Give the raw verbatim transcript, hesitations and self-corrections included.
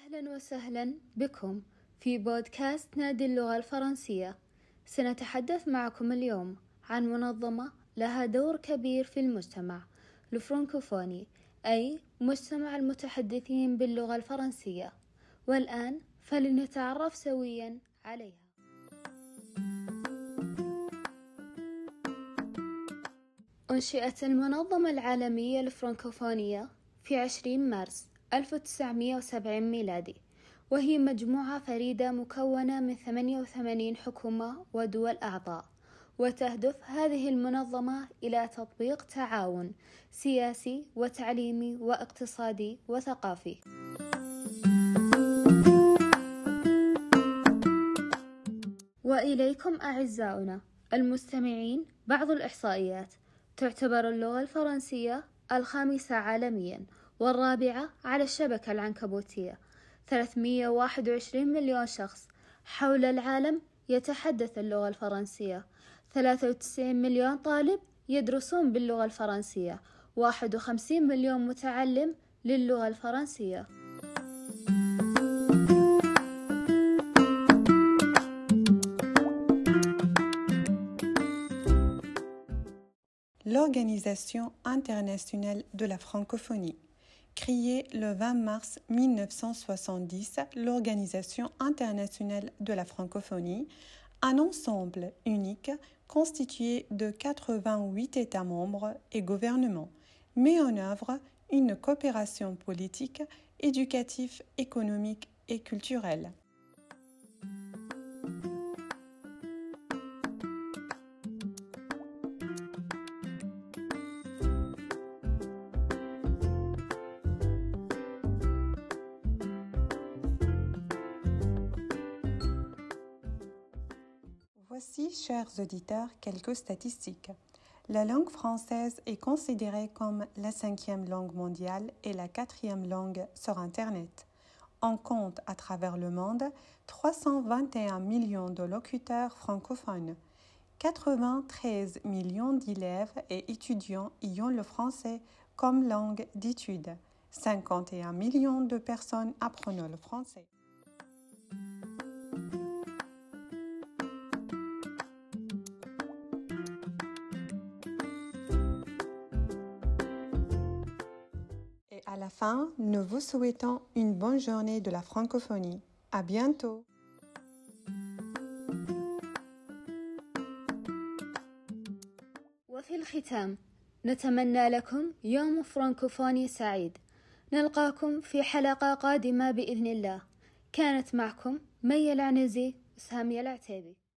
أهلا وسهلا بكم في بودكاست نادي اللغة الفرنسية. سنتحدث معكم اليوم عن منظمة لها دور كبير في المجتمع الفرنكوفوني، أي مجتمع المتحدثين باللغة الفرنسية. والآن فلنتعرف سويا عليها. أنشئت المنظمة العالمية الفرنكوفونية في عشرين مارس ألف وتسعمائة وسبعين ميلادي، وهي مجموعة فريدة مكونة من ثمانية وثمانين حكومة ودول أعضاء. وتهدف هذه المنظمة إلى تطبيق تعاون سياسي وتعليمي واقتصادي وثقافي. وإليكم أعزائنا المستمعين بعض الإحصائيات. تعتبر اللغة الفرنسية الخامسة عالميا والرابعة على الشبكة العنكبوتية. ثلاثمائة وواحد وعشرين مليون شخص حول العالم يتحدث اللغة الفرنسية. ثلاثة وتسعين مليون طالب يدرسون باللغة الفرنسية. واحد وخمسين مليون متعلم للغة الفرنسية. L'Organisation internationale de la francophonie. Créée le vingt mars mille neuf cent soixante-dix, l'Organisation internationale de la francophonie, un ensemble unique constitué de quatre-vingt-huit États membres et gouvernements, met en œuvre une coopération politique, éducative, économique et culturelle. Voici, chers auditeurs, quelques statistiques. La langue française est considérée comme la cinquième langue mondiale et la quatrième langue sur Internet. On compte à travers le monde trois cent vingt et un millions de locuteurs francophones. quatre-vingt-treize millions d'élèves et étudiants y ont le français comme langue d'étude. cinquante et un millions de personnes apprennent le français. Et à la fin, nous vous souhaitons une bonne journée de la francophonie. À bientôt! وفي الختام نتمنى لكم يوم فرنكوفوني سعيد. نلقاكم في حلقة قادمة بإذن الله. كانت معكم مي العنزي وسامية العتيبي.